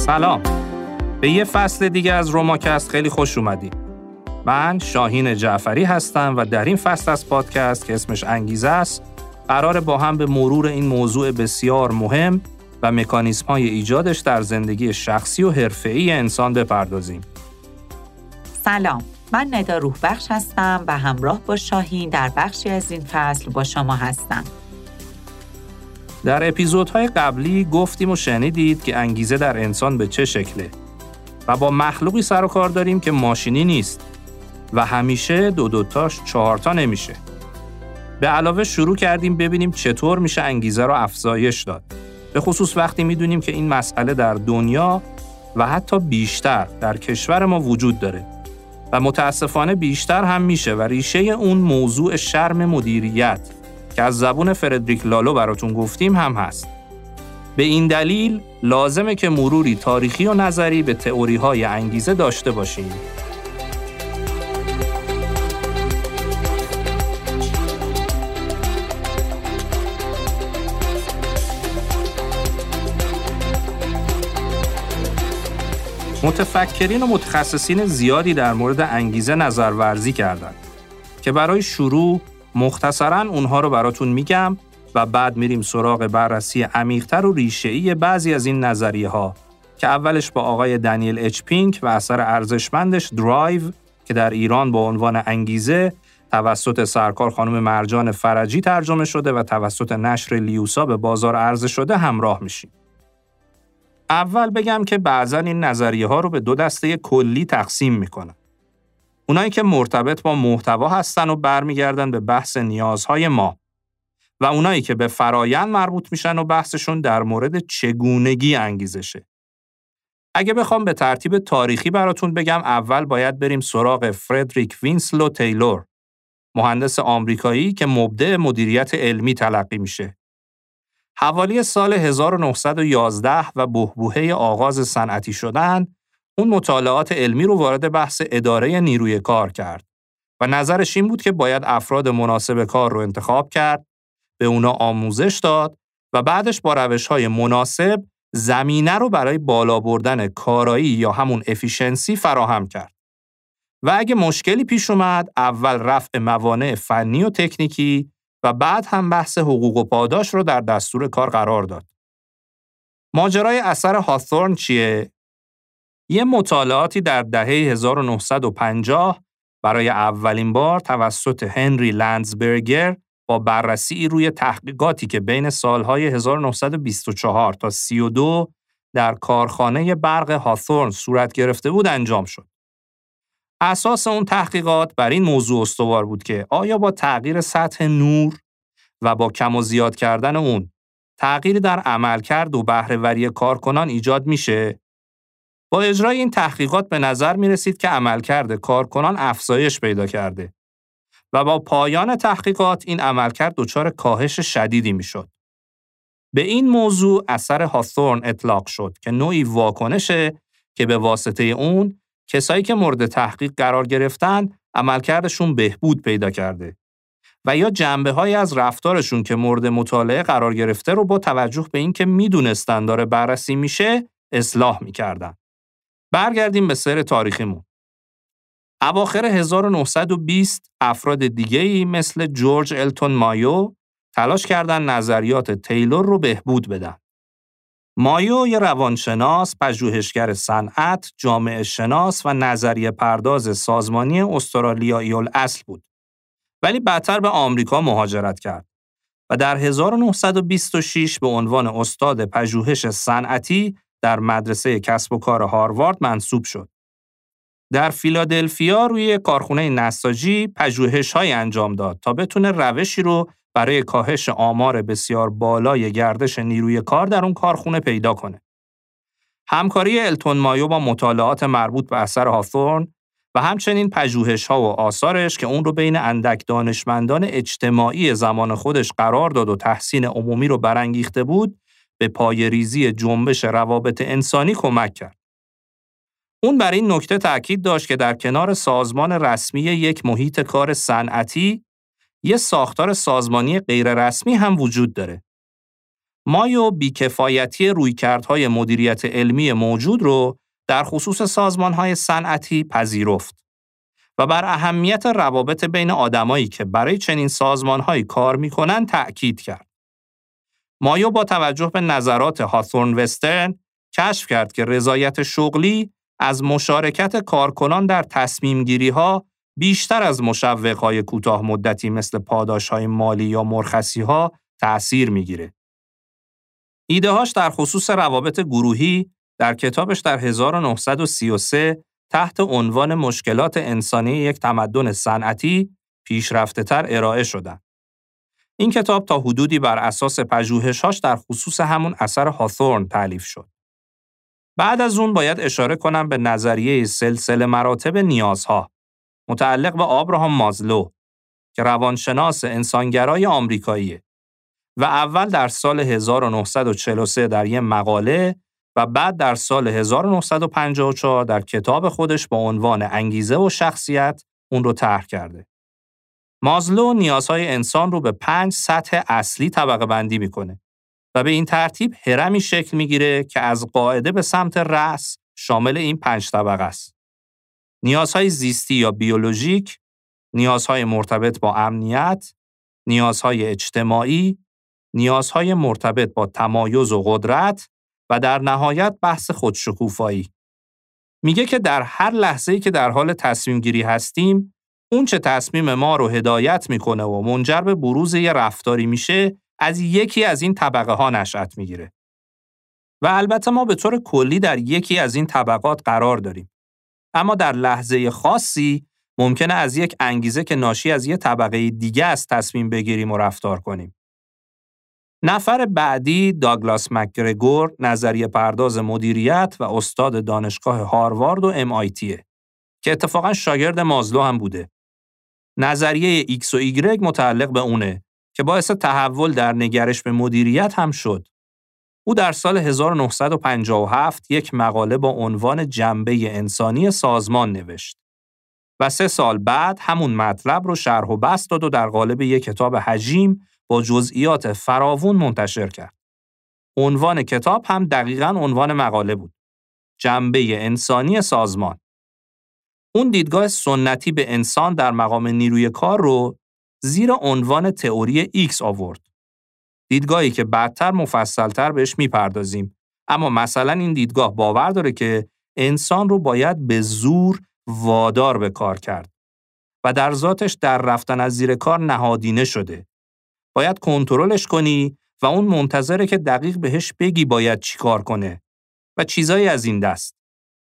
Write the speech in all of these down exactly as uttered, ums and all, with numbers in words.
سلام. به یه فصل دیگه از روماکست خیلی خوش اومدید. من شاهین جعفری هستم و در این فصل از پادکست که اسمش انگیزه است، قراره با هم به مرور این موضوع بسیار مهم و مکانیزم‌های ایجادش در زندگی شخصی و حرفه‌ای انسان بپردازیم. سلام. من ندا روحبخش هستم و همراه با شاهین در بخشی از این فصل با شما هستم. در اپیزودهای قبلی گفتیم و شنیدید که انگیزه در انسان به چه شکله و با مخلوقی سر و کار داریم که ماشینی نیست و همیشه دو دوتاش چهارتا نمیشه. به علاوه شروع کردیم ببینیم چطور میشه انگیزه رو افزایش داد، به خصوص وقتی میدونیم که این مسئله در دنیا و حتی بیشتر در کشور ما وجود داره و متاسفانه بیشتر هم میشه و ریشه اون موضوع شرم مدیریت که از زبون فردریک لالو براتون گفتیم هم هست. به این دلیل لازمه که مروری تاریخی و نظری به تئوری‌های انگیزه داشته باشیم. متفکرین و متخصصین زیادی در مورد انگیزه نظرورزی کردند که برای شروع مختصراً اونها رو براتون میگم و بعد میریم سراغ بررسی عمیق‌تر و ریشه‌ای بعضی از این نظریه‌ها که اولش با آقای دنیل اچ پینک و اثر ارزشمندش درایو که در ایران با عنوان انگیزه توسط سرکار خانم مرجان فرجی ترجمه شده و توسط نشر لیوسا به بازار عرضه شده همراه میشیم. اول بگم که بعضاً این نظریه‌ها رو به دو دسته کلی تقسیم میکنن. اونایی که مرتبط با محتوا هستن و برمیگردن به بحث نیازهای ما و اونایی که به فرایند مربوط میشن و بحثشون در مورد چگونگی انگیزشه. اگه بخوام به ترتیب تاریخی براتون بگم، اول باید بریم سراغ فردریک وینسلو تیلور، مهندس آمریکایی که مبدع مدیریت علمی تلقی میشه. حوالی سال هزار و نهصد و یازده و بحبوحه آغاز صنعتی شدن، اون مطالعات علمی رو وارد بحث اداره نیروی کار کرد و نظرش این بود که باید افراد مناسب کار رو انتخاب کرد، به اونا آموزش داد و بعدش با روش‌های مناسب زمینه رو برای بالا بردن کارایی یا همون افیشنسی فراهم کرد. و اگه مشکلی پیش اومد، اول رفع موانع فنی و تکنیکی و بعد هم بحث حقوق و پاداش رو در دستور کار قرار داد. ماجرای اثر هاثورن چیه؟ یه مطالعاتی در دهه هزار و نهصد و پنجاه برای اولین بار توسط هنری لندزبرگر با بررسی روی تحقیقاتی که بین سالهای هزار و نهصد و بیست و چهار تا سی و دو در کارخانه برق هاثورن صورت گرفته بود انجام شد. اساس اون تحقیقات بر این موضوع استوار بود که آیا با تغییر سطح نور و با کم و زیاد کردن اون تغییری در عملکرد و بهره‌وری کارکنان ایجاد میشه؟ با اجرای این تحقیقات به نظر می رسید که عملکرد کارکنان افزایش پیدا کرده و با پایان تحقیقات این عملکرد دچار کاهش شدیدی می شد. به این موضوع اثر هاثورن اطلاق شد که نوعی واکنشه که به واسطه اون کسایی که مورد تحقیق قرار گرفتن عملکردشون بهبود پیدا کرده و یا جنبه‌هایی از رفتارشون که مورد مطالعه قرار گرفته رو با توجه به اینکه میدونستن داره بررسی میشه اصلاح می‌کردن. برگردیم به سیر تاریخیمون. اواخر هزار و نهصد و بیست افراد دیگه‌ای مثل جورج التون مایو تلاش کردن نظریات تیلور رو بهبود بدن. مایو یه روانشناس، پژوهشگر صنعت، جامعه شناس و نظریه پرداز سازمانی استرالیایی الاصل بود. ولی بعدتر به آمریکا مهاجرت کرد و در هزار و نهصد و بیست و شش به عنوان استاد پژوهش صنعتی در مدرسه کسب و کار هاروارد منصوب شد. در فیلادلفیا روی کارخونه نساجی پژوهش‌هایی انجام داد تا بتونه روشی رو برای کاهش آمار بسیار بالای گردش نیروی کار در اون کارخونه پیدا کنه. همکاری التون مایو با مطالعات مربوط به اثر هاثورن و همچنین پژوهش‌ها و آثارش که اون رو بین اندک دانشمندان اجتماعی زمان خودش قرار داد و تحسین عمومی رو برانگیخته بود، به پایه‌ریزی جنبش روابط انسانی کمک کرد. اون بر این نکته تأکید داشت که در کنار سازمان رسمی یک محیط کار صنعتی، یه ساختار سازمانی غیر رسمی هم وجود داره. مایو بیکفایتی رویکردهای مدیریت علمی موجود رو در خصوص سازمانهای صنعتی پذیرفت و بر اهمیت روابط بین آدمایی که برای چنین سازمانهایی کار میکنن تأکید کرد. مایو با توجه به نظرات هاتورن وسترن کشف کرد که رضایت شغلی از مشارکت کارکنان در تصمیم گیری ها بیشتر از مشوقهای کوتاه مدتی مثل پاداشهای مالی یا مرخصی ها تأثیر میگیره. ایده هاش در خصوص روابط گروهی در کتابش در هزار و نهصد و سی و سه تحت عنوان مشکلات انسانی یک تمدن صنعتی پیشرفته‌تر ارائه شدند. این کتاب تا حدودی بر اساس پژوهش‌هاش در خصوص همون اثر هاتورن تألیف شد. بعد از اون باید اشاره کنم به نظریه سلسله مراتب نیازها متعلق به آبراهام مازلو که روانشناس انسانگرای آمریکاییه و اول در سال هزار و نهصد و چهل و سه در یک مقاله و بعد در سال هزار و نهصد و پنجاه و چهار در کتاب خودش با عنوان انگیزه و شخصیت اون رو طرح کرده. مازلو نیازهای انسان رو به پنج سطح اصلی طبقه بندی میکنه و به این ترتیب هرمی شکل میگیره که از قاعده به سمت رأس شامل این پنج طبقه است. نیازهای زیستی یا بیولوژیک، نیازهای مرتبط با امنیت، نیازهای اجتماعی، نیازهای مرتبط با تمایز و قدرت و در نهایت بحث خودشکوفایی. میگه که در هر لحظه‌ای که در حال تصمیم گیری هستیم، اون چه تصمیم ما رو هدایت میکنه و منجر به بروز یه رفتاری میشه، از یکی از این طبقه ها نشأت میگیره. و البته ما به طور کلی در یکی از این طبقات قرار داریم. اما در لحظه خاصی ممکنه از یک انگیزه که ناشی از یه طبقه دیگه از تصمیم بگیریم و رفتار کنیم. نفر بعدی داگلاس مکگرگور، نظریه پرداز مدیریت و استاد دانشگاه هاروارد و ام آی تیه که اتفاقاً شاگرد مازلو هم بوده. نظریه ایکس و ایگرگ متعلق به اونه که باعث تحول در نگرش به مدیریت هم شد. او در سال هزار و نهصد و پنجاه و هفت یک مقاله با عنوان جنبه انسانی سازمان نوشت و سه سال بعد همون مطلب رو شرح و بسط داد و در قالب یک کتاب حجیم با جزئیات فراوون منتشر کرد. عنوان کتاب هم دقیقاً عنوان مقاله بود. جنبه انسانی سازمان. اون دیدگاه سنتی به انسان در مقام نیروی کار رو زیر عنوان تئوری ایکس آورد. دیدگاهی که بعدتر مفصلتر بهش میپردازیم. اما مثلا این دیدگاه باور داره که انسان رو باید به زور وادار به کار کرد و در ذاتش در رفتن از زیر کار نهادینه شده. باید کنترلش کنی و اون منتظره که دقیق بهش بگی باید چی کار کنه و چیزایی از این دست.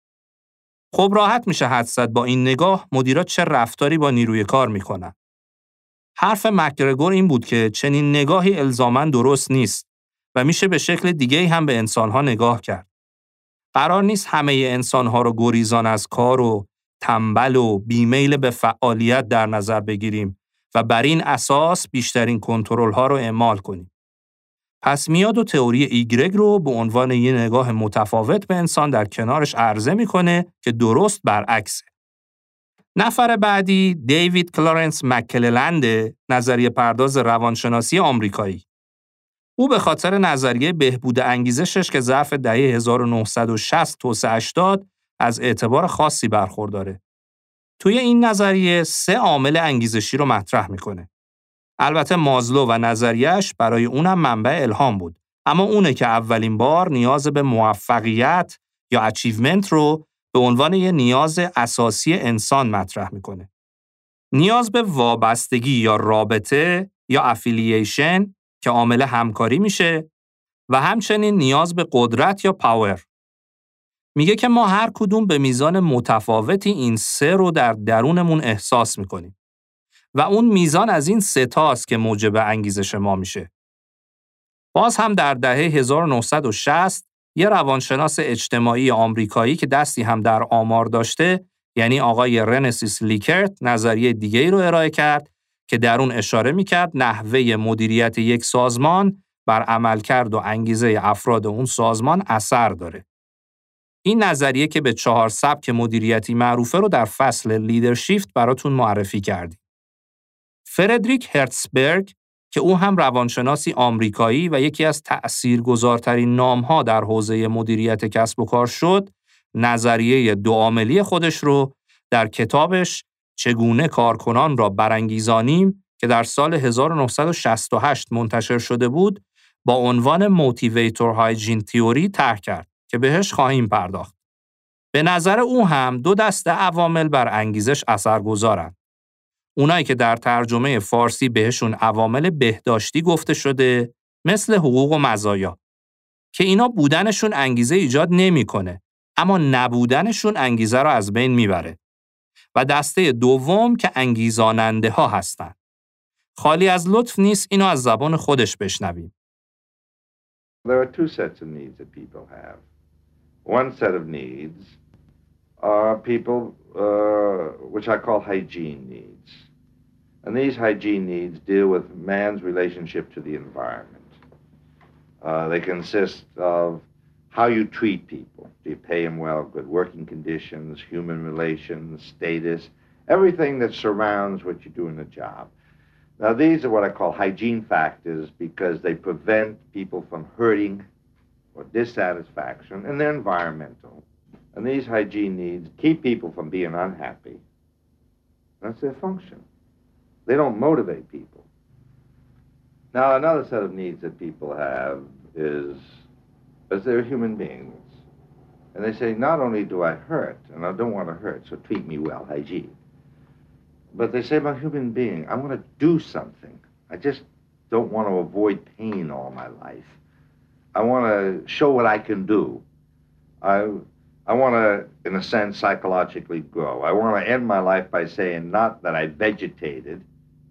خب راحت میشه حدس زد با این نگاه مدیرا چه رفتاری با نیروی کار میکنن. حرف مکگرگور این بود که چنین نگاهی الزاماً درست نیست و میشه به شکل دیگه‌ای هم به انسانها نگاه کرد. قرار نیست همه انسانها رو گریزان از کار و تنبل و بیمیل به فعالیت در نظر بگیریم و بر این اساس بیشترین کنترل‌ها رو اعمال کنیم. پس میاد و تئوری ایگرگ رو به عنوان یه نگاه متفاوت به انسان در کنارش عرضه میکنه که درست برعکسه. نفر بعدی دیوید کلارنس مککللند، نظریه پرداز روانشناسی آمریکایی. او به خاطر نظریه بهبود انگیزشش که ظرف دهه هزار و نهصد و شصت توسعه‌اش داد از اعتبار خاصی برخورداره. توی این نظریه سه عامل انگیزشی رو مطرح میکنه. البته مازلو و نظریه‌اش برای اونم منبع الهام بود، اما اونه که اولین بار نیاز به موفقیت یا اچیومنت رو به عنوان یه نیاز اساسی انسان مطرح میکنه. نیاز به وابستگی یا رابطه یا افیلییشن که عامل همکاری میشه و همچنین نیاز به قدرت یا پاور. میگه که ما هر کدوم به میزان متفاوتی این سه رو در درونمون احساس میکنیم و اون میزان از این سه تاست که موجب انگیزش ما میشه. باز هم در دهه هزار و نهصد و شصت یه روانشناس اجتماعی آمریکایی که دستی هم در آمار داشته، یعنی آقای رنسیس لیکرت، نظریه دیگه‌ای رو ارائه کرد که در اون اشاره میکرد نحوه مدیریت یک سازمان بر عملکرد و انگیزه افراد اون سازمان اثر داره. این نظریه که به چهار سبک مدیریتی معروفه رو در فصل لیدرشیفت براتون معرفی کردیم. فردریک هرتزبرگ که او هم روانشناسی آمریکایی و یکی از تأثیرگذارترین نام‌ها در حوزه مدیریت کسب و کار شد، نظریه دوعاملی خودش رو در کتابش چگونه کارکنان را برانگیزانیم که در سال هزار و نهصد و شصت و هشت منتشر شده بود، با عنوان موتیویتور هایجین تیوری طرح کرد که بهش خواهیم پرداخت. به نظر او هم دو دسته عوامل بر انگیزش اثرگذارند. اونایی که در ترجمه فارسی بهشون عوامل بهداشتی گفته شده، مثل حقوق و مزایا، که اینا بودنشون انگیزه ایجاد نمی‌کنه، اما نبودنشون انگیزه رو از بین میبره. و دسته دوم که انگیزاننده ها هستن. خالی از لطف نیست اینو از زبان خودش بشنویم. There are two sets of needs that people have. One set of needs are people uh, which I call hygiene needs. And these hygiene needs deal with man's relationship to the environment. Uh, they consist of how you treat people. Do you pay them well, good working conditions, human relations, status, everything that surrounds what you do in the job. Now, these are what I call hygiene factors because they prevent people from hurting or dissatisfaction, and they're environmental. And these hygiene needs keep people from being unhappy. That's their function. They don't motivate people. Now, another set of needs that people have is as they're human beings. And they say, not only do I hurt, and I don't want to hurt, so treat me well, hygiene. But they say, I'm a human being. I want to do something. I just don't want to avoid pain all my life. I want to show what I can do. I, I want to, in a sense, psychologically grow. I want to end my life by saying, not that I vegetated,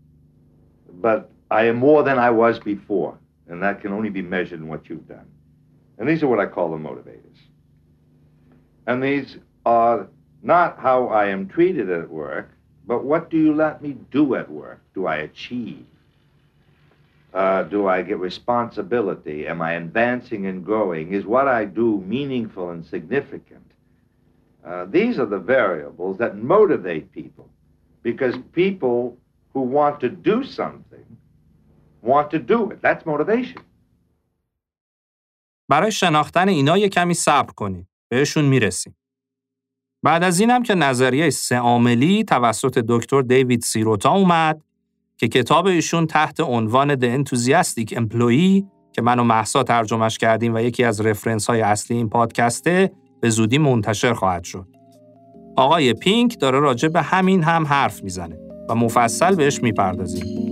but I am more than I was before. And that can only be measured in what you've done. And these are what I call the motivators. And these are not how I am treated at work, but what do you let me do at work? Do I achieve? Uh, do I get responsibility? Am I advancing and growing? Is what I do meaningful and significant? Uh, these are the variables that motivate people, because people who want to do something want to do it. That's motivation. برای شناختن اینا یک کمی صبر کنید. بهشون میرسیم. بعد از اینم که نظریه سه عاملی توسط دکتر دیوید سیروتا اومد که کتاب ایشون تحت عنوان The Enthusiastic Employee که من و مهسا ترجمهش کردیم و یکی از رفرنس های اصلی این پادکسته به زودی منتشر خواهد شد. آقای پینک داره راجع به همین هم حرف میزنه و مفصل بهش میپردازیم.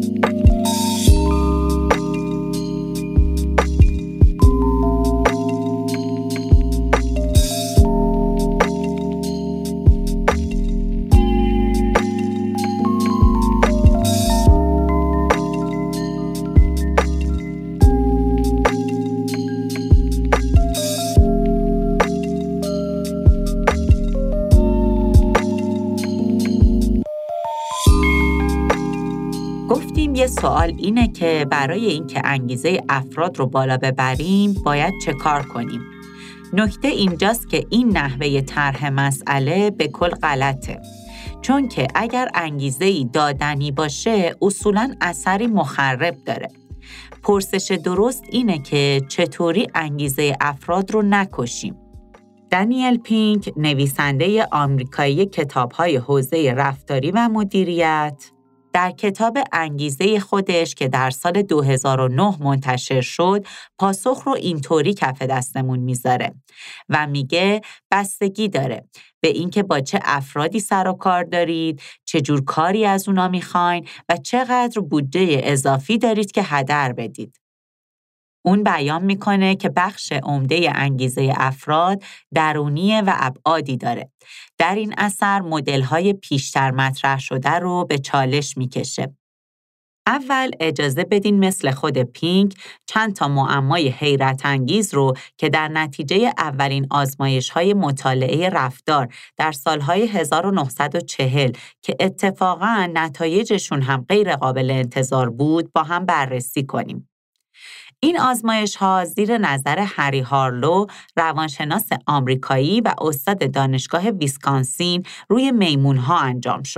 یه سوال اینه که برای اینکه انگیزه افراد رو بالا ببریم باید چه کار کنیم؟ نکته اینجاست که این نحوه طرح مسئله به کل غلطه. چون که اگر انگیزه‌ای دادنی باشه اصولاً اثری مخرب داره. پرسش درست اینه که چطوری انگیزه افراد رو نکشیم. دانیل پینک، نویسنده آمریکایی کتاب‌های حوزه رفتاری و مدیریت، در کتاب انگیزه خودش که در سال دو هزار و نه منتشر شد، پاسخ رو اینطوری کف دستمون میذاره و میگه بستگی داره به اینکه با چه افرادی سر و کار دارید، چه جور کاری از اونا میخواین و چقدر بودجه اضافی دارید که هدر بدید. اون بیان میکنه که بخش عمده انگیزه افراد درونیه و ابعادی داره. در این اثر مدل‌های پیشتر مطرح شده رو به چالش میکشه. اول اجازه بدین مثل خود پینک چند تا معمای حیرت انگیز رو که در نتیجه اولین آزمایش‌های مطالعه رفتار در سالهای هزار و نهصد و چهل که اتفاقاً نتایجشون هم غیر قابل انتظار بود با هم بررسی کنیم. این آزمایش‌ها زیر نظر هری هارلو، روانشناس آمریکایی و استاد دانشگاه ویسکانسین روی میمون‌ها انجام شد.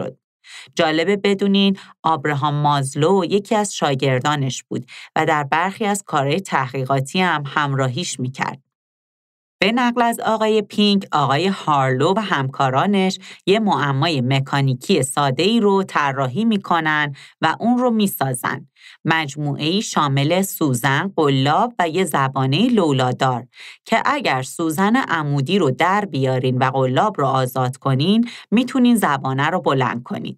جالبه بدونین آبراهام مازلو یکی از شاگردانش بود و در برخی از کارهای تحقیقاتی هم همراهیش میکرد. به نقل از آقای پینک، آقای هارلو و همکارانش یه معمای مکانیکی ساده‌ای رو طراحی میکنن و اون رو میسازن. مجموعه‌ای شامل سوزن، قلاب و یه زبانه لولادار که اگر سوزن عمودی رو در بیارین و قلاب رو آزاد کنین، میتونین زبانه رو بلند کنین.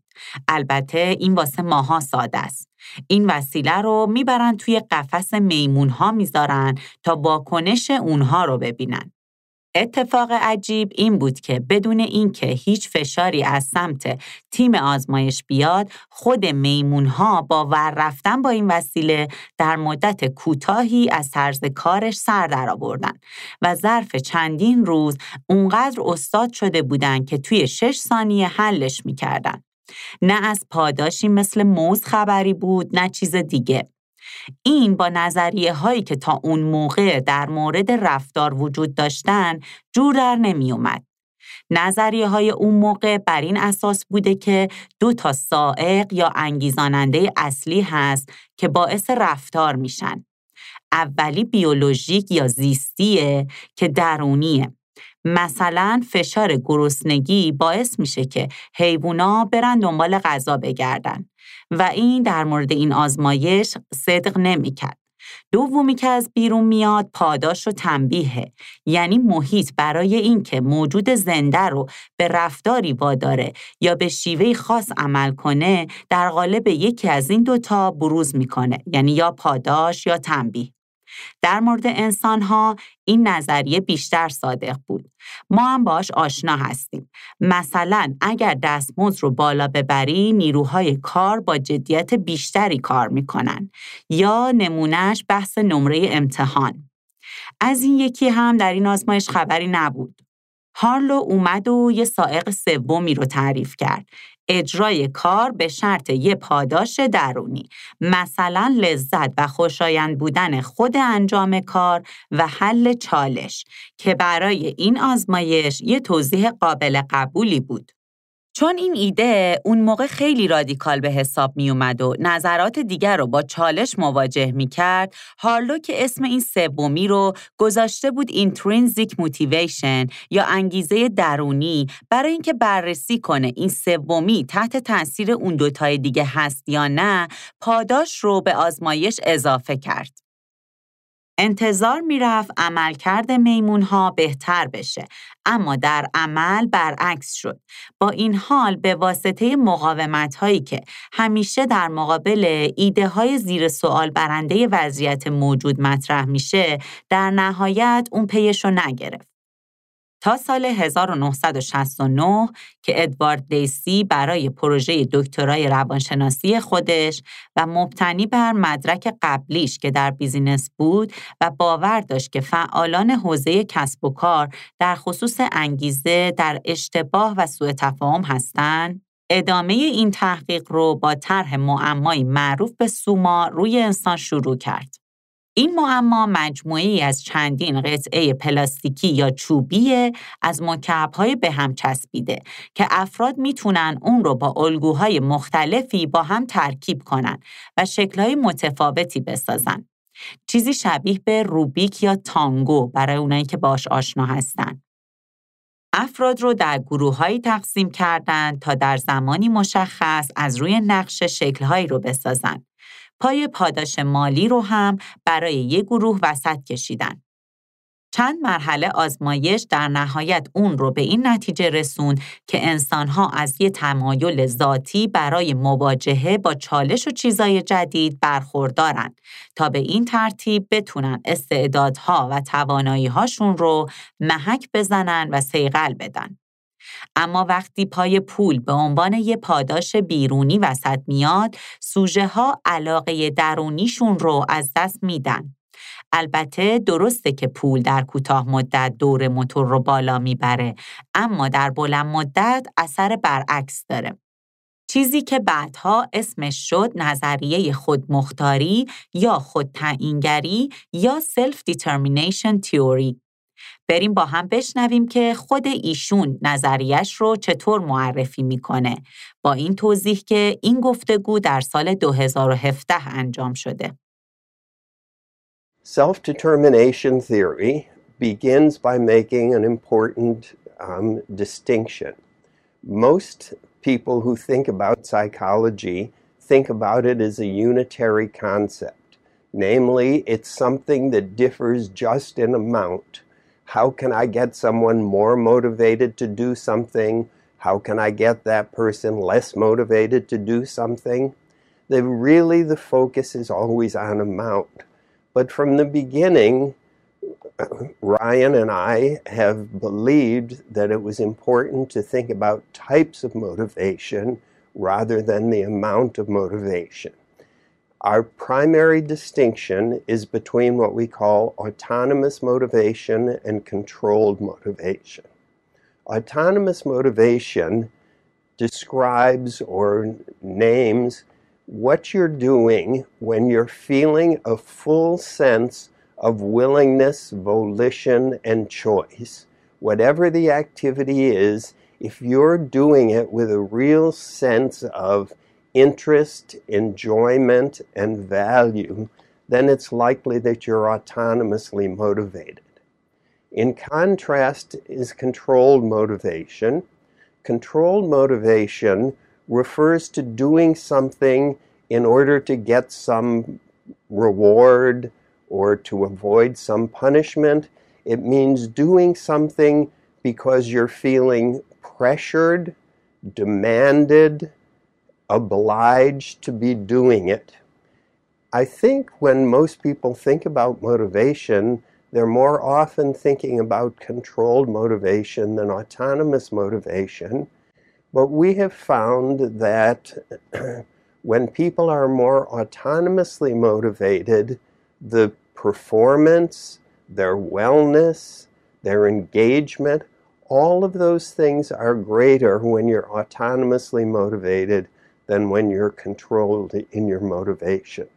البته این واسه ماها ساده است. این وسیله رو میبرن توی قفس میمون‌ها میذارن تا واکنش اونها رو ببینن. اتفاق عجیب این بود که بدون اینکه هیچ فشاری از سمت تیم آزمایش بیاد، خود میمون‌ها با ور رفتن با این وسیله در مدت کوتاهی از طرز کارش سر درآوردن و ظرف چندین روز اونقدر استاد شده بودن که توی شش ثانیه حلش می‌کردن. نه از پاداشی مثل موز خبری بود، نه چیز دیگه. این با نظریه هایی که تا اون موقع در مورد رفتار وجود داشتن جور در نمی اومد. نظریه های اون موقع بر این اساس بوده که دو تا سائق یا انگیزاننده اصلی هست که باعث رفتار میشن. اولی بیولوژیک یا زیستیه که درونیه. مثلا فشار گرسنگی باعث میشه که حیوونا برن دنبال غذا بگردن و این در مورد این آزمایش صدق نمی‌کرد. دومی که از بیرون میاد پاداش و تنبیهه، یعنی محیط برای این که موجود زنده رو به رفتاری واداره یا به شیوه خاص عمل کنه در قالب یکی از این دوتا بروز میکنه، یعنی یا پاداش یا تنبیه. در مورد انسان‌ها این نظریه بیشتر صادق بود. ما هم باش آشنا هستیم. مثلا اگر دستمزد رو بالا ببری، نیروهای کار با جدیت بیشتری کار میکنن. یا نمونهش بحث نمره امتحان. از این یکی هم در این آزمایش خبری نبود. هارلو اومد و یه سائق سومی رو تعریف کرد. اجرای کار به شرط یه پاداش درونی، مثلا لذت و خوشایند بودن خود انجام کار و حل چالش که برای این آزمایش یه توضیح قابل قبولی بود. چون این ایده اون موقع خیلی رادیکال به حساب می اومد و نظرات دیگر رو با چالش مواجه می کرد، هارلو که اسم این سومی رو گذاشته بود intrinsic motivation یا انگیزه درونی، برای اینکه بررسی کنه این سومی تحت تاثیر اون دوتای دیگه هست یا نه، پاداش رو به آزمایش اضافه کرد. انتظار میرفت عملکرد میمون‌ها بهتر بشه، اما در عمل برعکس شد. با این حال به واسطه مقاومت‌هایی که همیشه در مقابل ایده‌های زیر سوال برنده وضعیت موجود مطرح میشه، در نهایت اون پیشو نگرفت. تا سال هزار و نهصد و شصت و نه که ادوارد دیسی برای پروژه دکترای روانشناسی خودش و مبتنی بر مدرک قبلیش که در بیزینس بود و باور داشت که فعالان حوزه کسب و کار در خصوص انگیزه در اشتباه و سوء تفاهم هستند، ادامه این تحقیق رو با طرح معمایی معروف به سوما روی انسان شروع کرد. این معما مجموعه‌ای از چندین قطعه پلاستیکی یا چوبی از مکعب‌های به هم چسبیده که افراد میتونن اون رو با الگوهای مختلفی با هم ترکیب کنن و شکل‌های متفاوتی بسازن. چیزی شبیه به روبیک یا تانگو برای اونایی که باش آشنا هستن. افراد رو در گروه‌هایی تقسیم کردن تا در زمانی مشخص از روی نقشه شکل‌هایی رو بسازن. پای پاداش مالی رو هم برای یک گروه وسط کشیدن. چند مرحله آزمایش در نهایت اون رو به این نتیجه رسون که انسان‌ها از یه تمایل ذاتی برای مواجهه با چالش و چیزای جدید برخوردارن تا به این ترتیب بتونن استعدادها و توانایی‌هاشون رو محک بزنن و صیقل بدن. اما وقتی پای پول به عنوان یه پاداش بیرونی وسط میاد، سوژه ها علاقه درونیشون رو از دست میدن. البته درسته که پول در کوتاه مدت دور موتور رو بالا میبره، اما در بلند مدت اثر برعکس داره. چیزی که بعدها اسمش شد نظریه خودمختاری یا خودتعیینگری یا Self Determination Theory. بریم با هم بشنویم که خود ایشون نظریش رو چطور معرفی میکنه، با این توضیح که این گفتگو در سال دو هزار و هفده انجام شده. Self-determination theory begins by making an important um, distinction. Most people who think about psychology think about it as a unitary concept. Namely, it's something that differs just in amount. How can I get someone more motivated to do something? How can I get that person less motivated to do something? The, really, the focus is always on amount. But from the beginning, Ryan and I have believed that it was important to think about types of motivation rather than the amount of motivation. Our primary distinction is between what we call autonomous motivation and controlled motivation. Autonomous motivation describes or names what you're doing when you're feeling a full sense of willingness, volition, and choice. Whatever the activity is, if you're doing it with a real sense of interest, enjoyment, and value, then it's likely that you're autonomously motivated. In contrast is controlled motivation. Controlled motivation refers to doing something in order to get some reward or to avoid some punishment. It means doing something because you're feeling pressured, demanded, obliged to be doing it. I think when most people think about motivation, they're more often thinking about controlled motivation than autonomous motivation. But we have found that when people are more autonomously motivated, the performance, their wellness, their engagement, all of those things are greater when you're autonomously motivated than when you're controlled in your motivation.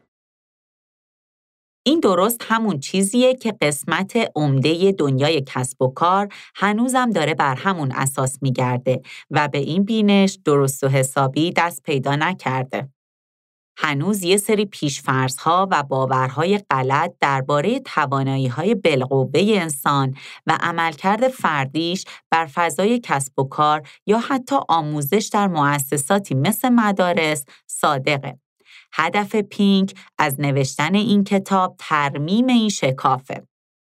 این درست همون چیزیه که قسمت عمده دنیای کسب و کار هنوزم داره بر همون اساس میگرده و به این بینش درست و حسابی دست پیدا نکرده. هنوز یه سری پیش‌فرض‌ها و باورهای غلط درباره توانایی‌های بالقوه انسان و عملکرد فردیش بر فضای کسب و کار یا حتی آموزش در مؤسساتی مثل مدارس صادقه. هدف پینک از نوشتن این کتاب ترمیم این شکافه.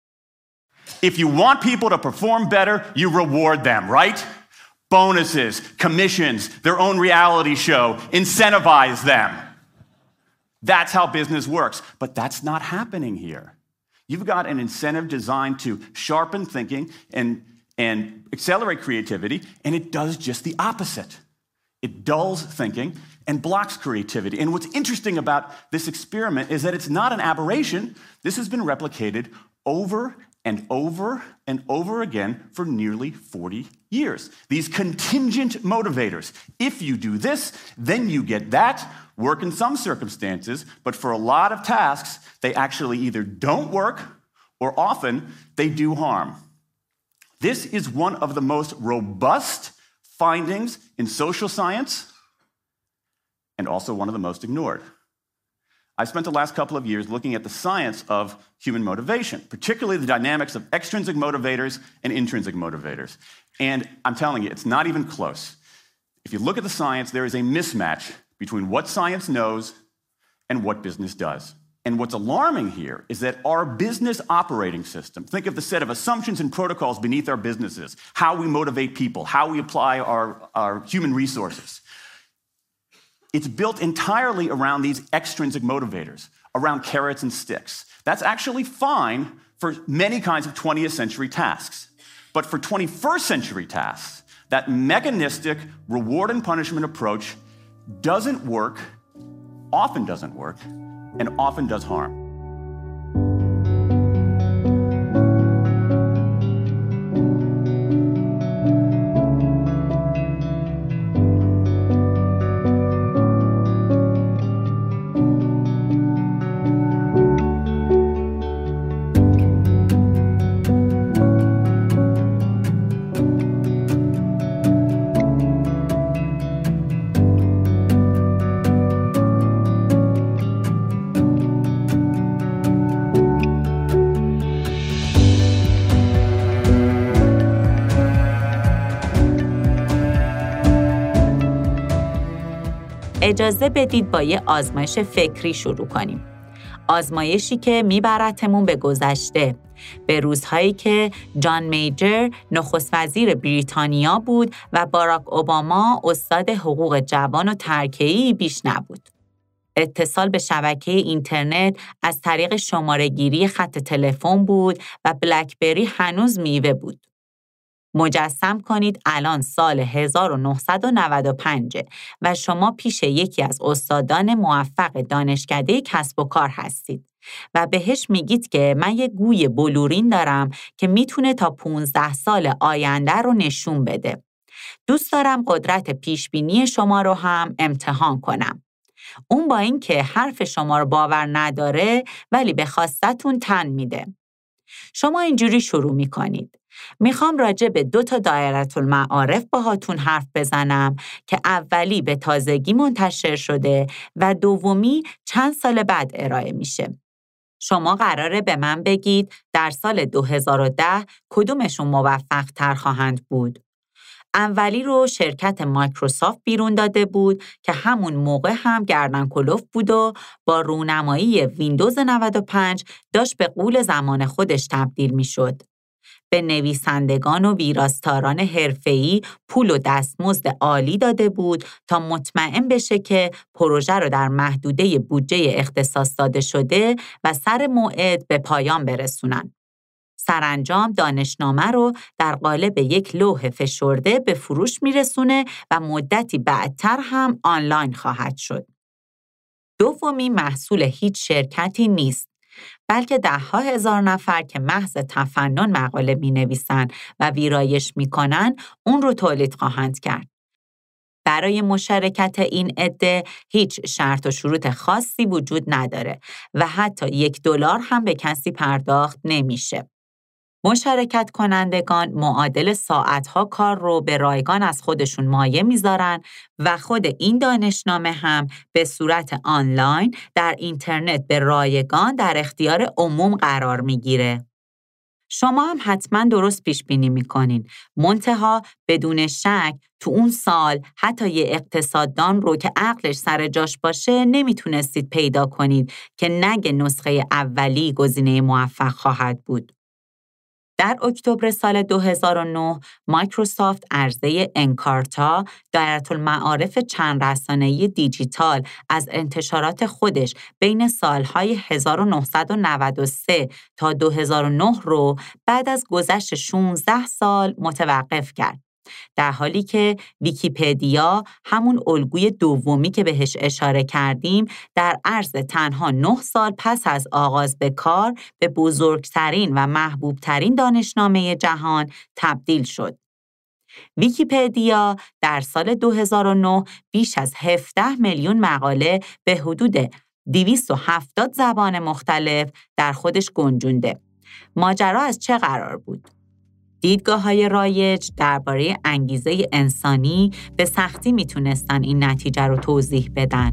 If you want people to perform better, you reward them, right? Bonuses, commissions, their own reality show, incentivize them. That's how business works. But that's not happening here. You've got an incentive designed to sharpen thinking and, and accelerate creativity, and it does just the opposite. It dulls thinking and blocks creativity. And what's interesting about this experiment is that it's not an aberration. This has been replicated over and over and over again for nearly forty years. These contingent motivators. If you do this, then you get that. Work in some circumstances, but for a lot of tasks, they actually either don't work or often they do harm. This is one of the most robust findings in social science and also one of the most ignored. I've spent the last couple of years looking at the science of human motivation, particularly the dynamics of extrinsic motivators and intrinsic motivators. And I'm telling you, it's not even close. If you look at the science, there is a mismatch between what science knows and what business does. And what's alarming here is that our business operating system, think of the set of assumptions and protocols beneath our businesses, how we motivate people, how we apply our, our human resources. It's built entirely around these extrinsic motivators, around carrots and sticks. That's actually fine for many kinds of twentieth century tasks. But for twenty-first century tasks, that mechanistic reward and punishment approach doesn't work, often doesn't work, and often does harm. اجازه بدید با یه آزمایش فکری شروع کنیم. آزمایشی که میبرتمون به گذشته، به روزهایی که جان میجر نخست وزیر بریتانیا بود و باراک اوباما استاد حقوق جوان و ترکه‌ای بیش نبود. اتصال به شبکه اینترنت از طریق شماره‌گیری خط تلفن بود و بلکبری هنوز میوه بود. مجسم کنید الان سال هزار و نهصد و نود و پنج و شما پیش یکی از استادان موفق دانشکده کسب و کار هستید و بهش میگید که من یه گوی بلورین دارم که میتونه تا پانزده سال آینده رو نشون بده. دوست دارم قدرت پیشبینی شما رو هم امتحان کنم. اون با این که حرف شما رو باور نداره ولی به خواستتون تن میده. شما اینجوری شروع میکنید: میخوام راجع به دو تا دایره المعارف باهاتون حرف بزنم که اولی به تازگی منتشر شده و دومی چند سال بعد ارائه میشه. شما قراره به من بگید در سال دو هزار و ده کدومشون موفق تر خواهند بود. اولی رو شرکت مایکروسافت بیرون داده بود که همون موقع هم گردن کلفت بود و با رونمایی ویندوز نود و پنج داشت به غول زمان خودش تبدیل می شد. به نویسندگان و ویراستاران حرفه‌ای پول و دستمزد عالی داده بود تا مطمئن بشه که پروژه رو در محدوده بودجه اختصاص داده شده و سر موعد به پایان برسونن. سرانجام دانشنامه رو در قالب یک لوح فشرده به فروش میرسونه و مدتی بعدتر هم آنلاین خواهد شد. دومی محصول هیچ شرکتی نیست، بلکه ده ها هزار نفر که محض تفنن مقاله می نویسن و ویرایش می کنن اون رو تولید خواهند کرد. برای مشارکت این عده هیچ شرط و شروط خاصی وجود نداره و حتی یک دلار هم به کسی پرداخت نمیشه. مشارکت کنندگان معادل ساعتها کار رو به رایگان از خودشون مایه میذارن و خود این دانشنامه هم به صورت آنلاین در اینترنت به رایگان در اختیار عموم قرار میگیره. شما هم حتما درست پیش بینی میکنین. منتها بدون شک تو اون سال حتی یه اقتصاددان رو که عقلش سر جاش باشه نمیتونستید پیدا کنید که نگه نسخه اولی گزینه موفق خواهد بود. در اکتبر سال دو هزار و نه مایکروسافت عرضه انکارتا، دایره‌المعارف چند رسانه‌ای دیجیتال از انتشارات خودش بین سالهای هزار و نهصد و نود و سه تا دو هزار و نه رو بعد از گذشت شانزده سال متوقف کرد. در حالی که ویکی‌پدیا همون الگوی دومی که بهش اشاره کردیم در عرض تنها نه سال پس از آغاز به کار به بزرگترین و محبوبترین دانشنامه جهان تبدیل شد. ویکی‌پدیا در سال دو هزار و نه بیش از هفده میلیون مقاله به حدود دویست و هفتاد زبان مختلف در خودش گنجونده. ماجرا از چه قرار بود؟ دیدگاه‌های رایج درباره انگیزه انسانی به سختی میتونستن این نتیجه رو توضیح بدن.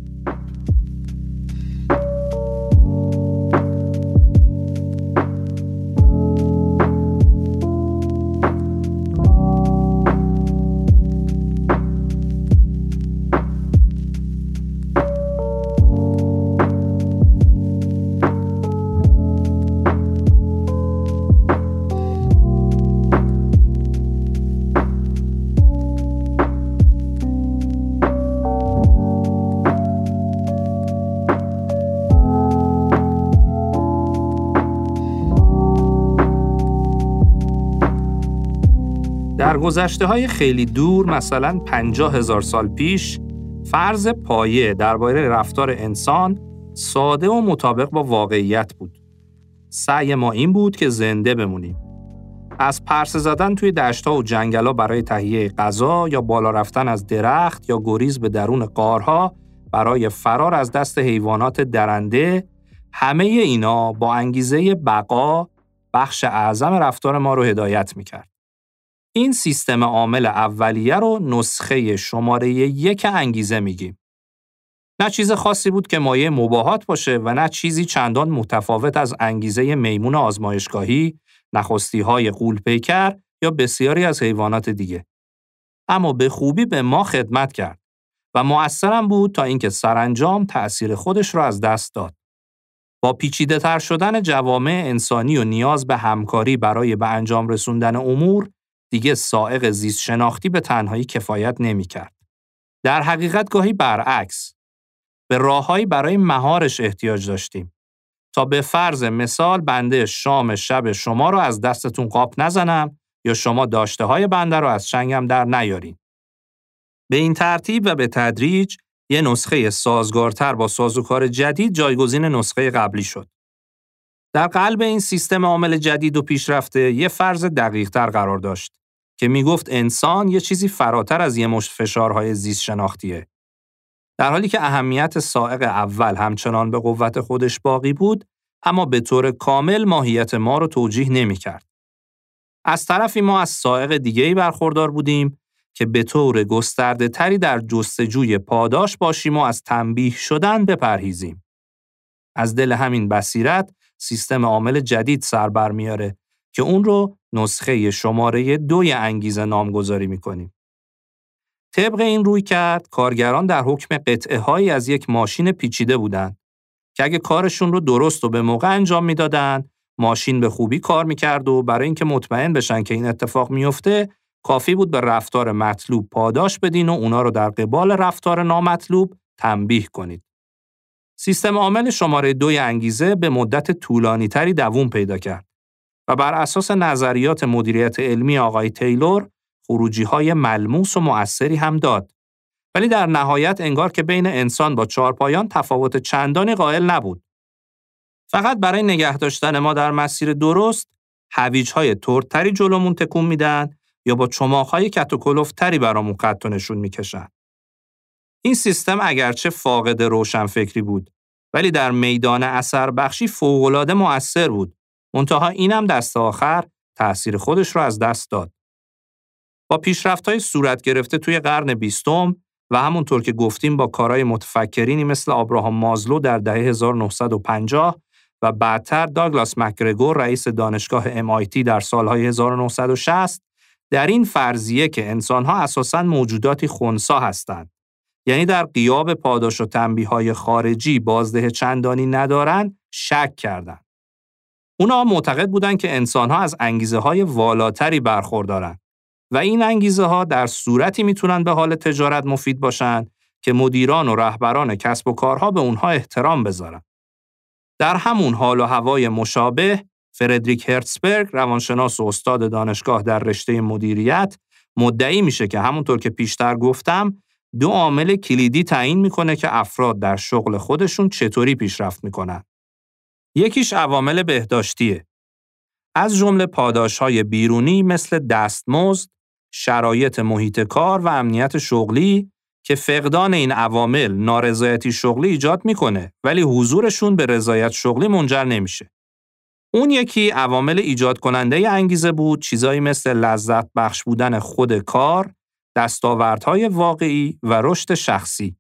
در گذشته‌های خیلی دور، مثلا پنجاه هزار سال پیش، فرض پایه درباره رفتار انسان ساده و مطابق با واقعیت بود. سعی ما این بود که زنده بمونیم. از پرسه زدن توی دشت‌ها و جنگل‌ها برای تهیه غذا یا بالا رفتن از درخت یا گریز به درون غارها برای فرار از دست حیوانات درنده، همه اینا با انگیزه بقا بخش اعظم رفتار ما رو هدایت می‌کرد. این سیستم عامل اولیه رو نسخه شماره یک انگیزه میگیم. نه چیز خاصی بود که مایه مباهات باشه و نه چیزی چندان متفاوت از انگیزه میمون آزمایشگاهی، نخستی‌های غول‌پیکر یا بسیاری از حیوانات دیگه. اما به خوبی به ما خدمت کرد و مؤثرم بود تا اینکه سرانجام تأثیر خودش را از دست داد. با پیچیده تر شدن جوامع انسانی و نیاز به همکاری برای به انجام رسوندن امور، دیگه سائق زیست شناختی به تنهایی کفایت نمی کرد. در حقیقت گاهی برعکس، به راههایی برای مهارش احتیاج داشتیم تا به فرض مثال بنده شام شب شما رو از دستتون قاپ نزنم یا شما داشته های بنده رو از چنگم در نیارین. به این ترتیب و به تدریج یه نسخه سازگارتر با سازوکار جدید جایگزین نسخه قبلی شد. در قلب این سیستم عامل جدید و پیشرفته یه فرض دقیق‌تر قرار داشت که میگفت انسان یه چیزی فراتر از یه مشت فشارهای زیست شناختیه. در حالی که اهمیت سائق اول همچنان به قوت خودش باقی بود، اما به طور کامل ماهیت ما رو توجیه نمی‌کرد. از طرفی ما از سائق دیگه‌ای برخوردار بودیم که به طور گسترده تری در جستجوی پاداش باشیم و از تنبیه شدن بپرهیزیم. از دل همین بصیرت سیستم عامل جدید سر بر میاره که اون رو نسخه شماره دوی انگیزه نامگذاری میکنیم. طبق این روی کرد کارگران در حکم قطعه هایی از یک ماشین پیچیده بودند که اگه کارشون رو درست و به موقع انجام میدادن، ماشین به خوبی کار میکرد و برای اینکه مطمئن بشن که این اتفاق میفته، کافی بود به رفتار مطلوب پاداش بدین و اونا رو در قبال رفتار نامطلوب تنبیه کنید. سیستم عامل شماره دوی انگیزه به مدت طولانی تری دوام پیدا کرد و بر اساس نظریات مدیریت علمی آقای تیلور خروجی‌های ملموس و مؤثری هم داد. ولی در نهایت انگار که بین انسان با چهارپایان تفاوت چندانی قائل نبود. فقط برای نگه داشتن ما در مسیر درست، هویج‌های تردتری جلومون تکون میدن یا با چماق‌های کت و کلفتری برامون خط و نشون میکشن. این سیستم اگرچه فاقد روشنفکری بود، ولی در میدان اثر بخشی فوق‌العاده مؤثر بود. منتها اینم دست آخر تأثیر خودش رو از دست داد. با پیشرفت‌های صورت گرفته توی قرن بیستم و همونطور که گفتیم با کارهای متفکرینی مثل آبراهام مازلو در دهه هزار و نهصد و پنجاه و بعدتر داگلاس مکگرگور رئیس دانشگاه ام آی تی در سالهای هزار و نهصد و شصت، در این فرضیه که انسان‌ها اساساً موجوداتی خنثی هستند، یعنی در غیاب پاداش و تنبیه‌های خارجی بازده چندانی ندارند، شک کردند. اونا معتقد بودند که انسان‌ها از انگیزه‌های والاتری برخوردارند و این انگیزه‌ها در صورتی میتونن به حال تجارت مفید باشن که مدیران و رهبران کسب و کارها به اونها احترام بذارن. در همون حال و هوای مشابه، فردریک هرتزبرگ، روانشناس و استاد دانشگاه در رشته مدیریت، مدعی میشه که همونطور که پیشتر گفتم، دو عامل کلیدی تعیین میکنه که افراد در شغل خودشون چطوری پیشرفت میکنن. یکیش عوامل بهداشتیه. از جمله پاداش‌های بیرونی مثل دستمزد، شرایط محیط کار و امنیت شغلی که فقدان این عوامل نارضایتی شغلی ایجاد میکنه ولی حضورشون به رضایت شغلی منجر نمیشه. اون یکی عوامل ایجاد کننده انگیزه بود، چیزایی مثل لذت بخش بودن خود کار، دستاوردهای واقعی و رشد شخصی.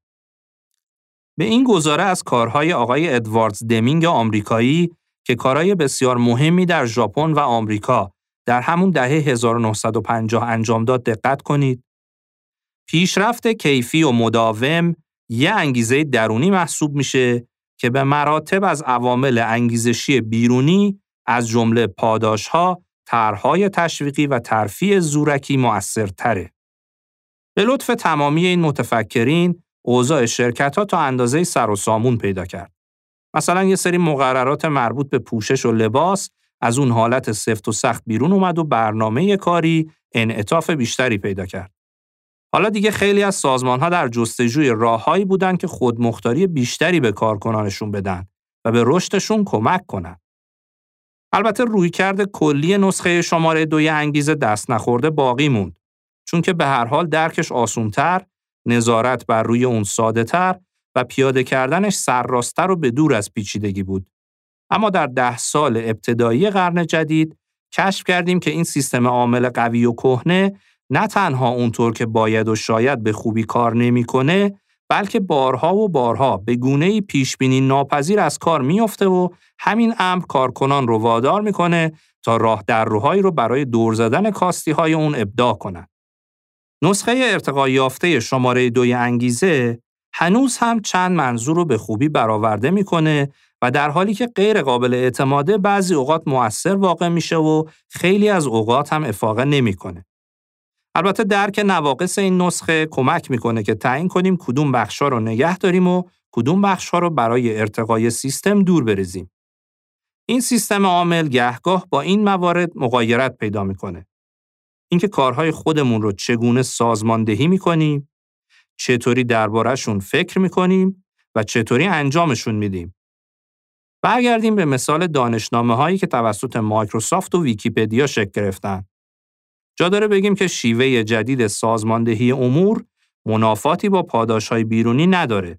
به این گزاره از کارهای آقای ادواردز دمینگ آمریکایی که کارهای بسیار مهمی در ژاپن و آمریکا در همون دهه هزار و نهصد و پنجاه انجام داد دقت کنید. پیشرفت کیفی و مداوم یه انگیزه درونی محسوب میشه که به مراتب از عوامل انگیزشی بیرونی از جمله پاداش‌ها، طرح‌های تشویقی و ترفیع زورکی مؤثرتره. به لطف تمامی این متفکرین، اوضاع شرکت‌ها تا اندازه‌ای سر و سامون پیدا کرد. مثلا یه سری مقررات مربوط به پوشش و لباس از اون حالت سفت و سخت بیرون اومد و برنامه کاری انعطاف بیشتری پیدا کرد. حالا دیگه خیلی از سازمان‌ها در جستجوی راههایی بودن که خودمختاری بیشتری به کارکنانشون بدن و به رشدشون کمک کنن. البته رویکرد کلی نسخه شماره دوی انگیزه دست نخورده باقی موند، چون که به هر حال درکش آسان‌تر، نظارت بر روی اون ساده‌تر و پیاده کردنش سرراست‌تر و به دور از پیچیدگی بود. اما در ده سال ابتدایی قرن جدید کشف کردیم که این سیستم عامل قوی و کهنه نه تنها اونطور که باید و شاید به خوبی کار نمی‌کنه، بلکه بارها و بارها به گونه‌ای پیشبینی ناپذیر از کار میفته و همین امر کارکنان رو وادار میکنه تا راه در روهایی رو برای دور زدن کاستی‌های اون ابداع کنن. نسخه ارتقا یافته شماره دوی انگیزه هنوز هم چند منظور رو به خوبی برآورده میکنه و در حالی که غیر قابل اعتماده بعضی اوقات مؤثر واقع میشه و خیلی از اوقات هم افاقه نمیکنه. البته درک نواقص این نسخه کمک میکنه که تعیین کنیم کدوم بخشا رو نگه داریم و کدوم بخشا رو برای ارتقای سیستم دور بریزیم. این سیستم عامل گهگاه با این موارد مغایرت پیدا میکنه. اینکه کارهای خودمون رو چگونه سازماندهی میکنیم، چطوری درباره‌شون فکر میکنیم و چطوری انجامشون میدیم. برگردیم به مثال دانشنامه‌هایی که توسط مایکروسافت و ویکی‌پدیا شکل گرفتن. جا داره بگیم که شیوه جدید سازماندهی امور منافاتی با پاداش‌های بیرونی نداره.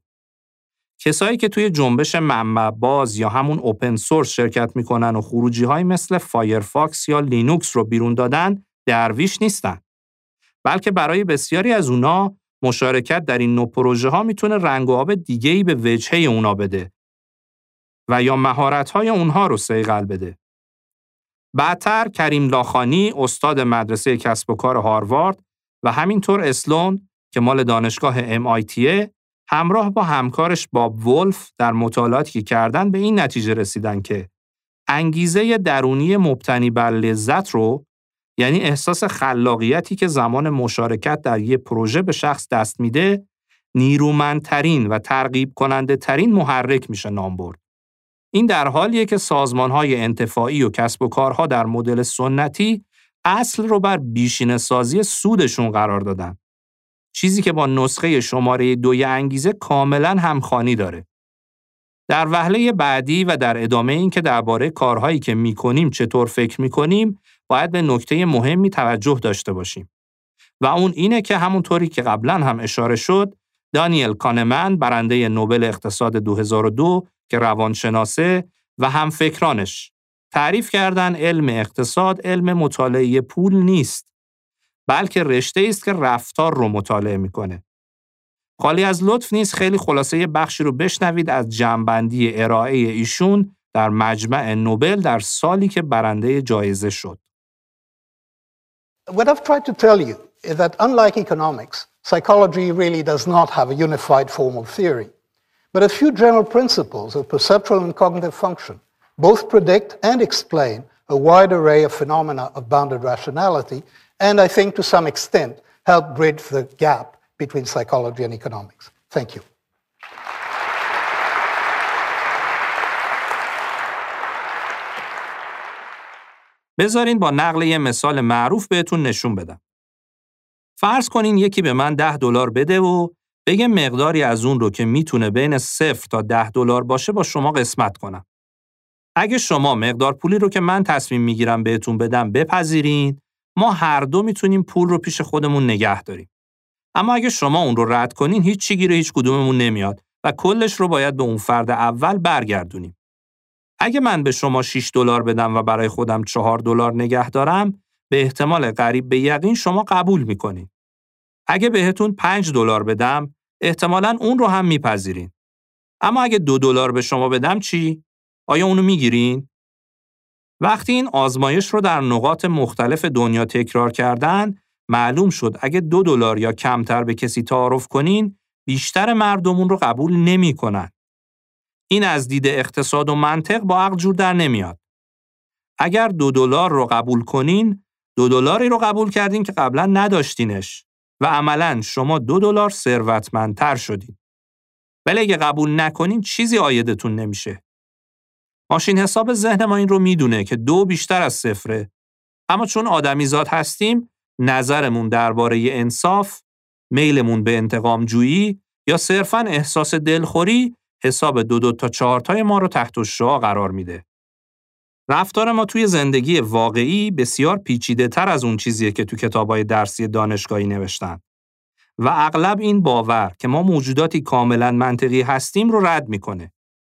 کسایی که توی جنبش منبع باز یا همون اوپن سورس شرکت میکنن و خروجی‌های مثل فایرفاکس یا لینوکس رو بیرون دادن، درویش نیستن. بلکه برای بسیاری از اونا مشارکت در این نوع پروژه ها میتونه رنگ و آب دیگه‌ای به وجهه اونا بده و یا مهارت‌های اونها رو صیقل بده. بعدتر کریم لاخانی استاد مدرسه کسب و کار هاروارد و همینطور اسلون که مال دانشگاه ام آی تی همراه با همکارش باب ولف در مطالعاتی که کردن به این نتیجه رسیدن که انگیزه درونی مبتنی بر لذت رو، یعنی احساس خلاقیتی که زمان مشارکت در یک پروژه به شخص دست میده، نیرومندترین و ترغیب کننده ترین محرک میشه نام برد. این در حالیه که سازمان‌های انتفاعی و کسب و کارها در مدل سنتی اصل رو بر بیشینه سازی سودشون قرار دادن. چیزی که با نسخه شماره دوی انگیزه کاملاً همخوانی داره. در وهله بعدی و در ادامه این که درباره کارهایی که میکنیم چطور فکر میکنیم، باید به نکته مهمی توجه داشته باشیم. و اون اینه که همونطوری که قبلا هم اشاره شد، دانیل کانمن برنده نوبل اقتصاد دو هزار و دو که روانشناسه و هم فکرانش تعریف کردن علم اقتصاد علم مطالعه پول نیست، بلکه رشته است که رفتار رو مطالعه میکنه. خالی از لطف نیست خیلی خلاصه یه بخشی رو بشنوید از جمع‌بندی ارائه ایشون در مجمع نوبل در سالی که برنده جایزه شد. What I've tried to tell you is that unlike economics, psychology really does not have a unified form of theory, but a few general principles of perceptual and cognitive function both predict and explain a wide array of phenomena of bounded rationality, and I think to some extent help bridge the gap between psychology and economics. Thank you. بذارین با نقل یه مثال معروف بهتون نشون بدم. فرض کنین یکی به من ده دلار بده و بگه مقداری از اون رو که میتونه بین صفر تا ده دلار باشه با شما قسمت کنم. اگه شما مقدار پولی رو که من تصمیم میگیرم بهتون بدم بپذیرین، ما هر دو میتونیم پول رو پیش خودمون نگه داریم. اما اگه شما اون رو رد کنین، هیچ چی گیر هیچ کدوممون نمیاد و کلش رو باید به اون فرد اول برگردونیم. اگه من به شما شش دلار بدم و برای خودم چهار دلار نگه دارم، به احتمال قریب به یقین شما قبول میکنین. اگه بهتون پنج دلار بدم، احتمالاً اون رو هم میپذیرین. اما اگه دو دلار به شما بدم چی؟ آیا اونو میگیرین؟ وقتی این آزمایش رو در نقاط مختلف دنیا تکرار کردن، معلوم شد اگه دو دلار یا کمتر به کسی تعارف کنین، بیشتر مردم اون رو قبول نمیکنن. این از دید اقتصاد و منطق با عقل جور در نمیاد. اگر دو دلار رو قبول کنین، دو دلاری رو قبول کردین که قبلا نداشتینش و عملاً شما دو دلار ثروتمندتر شدین. ولی اگه قبول نکنین چیزی عایدتون نمیشه. ماشین حساب ذهن ما این رو میدونه که دو بیشتر از صفره. اما چون آدمیزاد هستیم، نظرمون درباره انصاف، میلمون به انتقام جویی یا صرفاً احساس دلخوری حساب دو دو تا چهار تای ما رو تحت الشعاع قرار میده. رفتار ما توی زندگی واقعی بسیار پیچیده تر از اون چیزیه که تو کتابای درسی دانشگاهی نوشتن و اغلب این باور که ما موجوداتی کاملاً منطقی هستیم رو رد میکنه.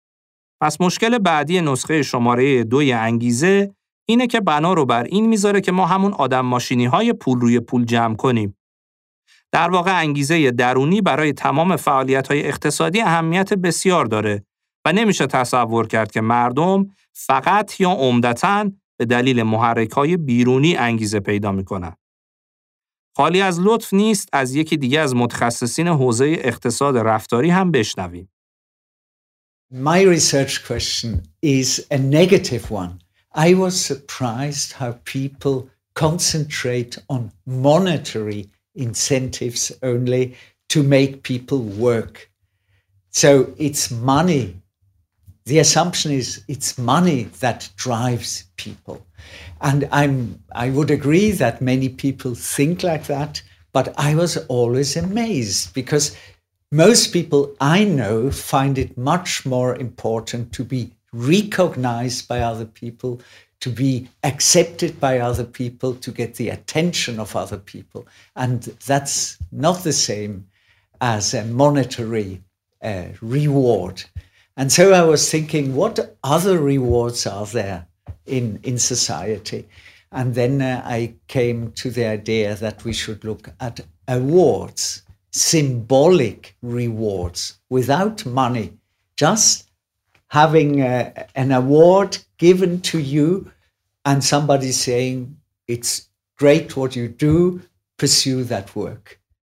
پس مشکل بعدی نسخه شماره دوی انگیزه اینه که بنا رو بر این میذاره که ما همون آدم ماشینی های پول روی پول جمع کنیم. در واقع انگیزه درونی برای تمام فعالیت‌های اقتصادی اهمیت بسیار داره و نمیشه تصور کرد که مردم فقط یا عمدتاً به دلیل محرک‌های بیرونی انگیزه پیدا می‌کنن. خالی از لطف نیست از یکی دیگه از متخصصین حوزه اقتصاد رفتاری هم بشنویم. My research question is a negative one. I was surprised how people concentrate on monetary incentives only to make people work. So it's money. The assumption is it's money that drives people. And I'm, I would agree that many people think like that, but I was always amazed because most people I know find it much more important to be recognized by other people, to be accepted by other people, to get the attention of other people. And that's not the same as a monetary uh, reward. And so I was thinking, what other rewards are there in, in society? And then uh, I came to the idea that we should look at awards, symbolic rewards, without money, just having uh, an award given to you and somebody saying, it's great what you do, pursue that work.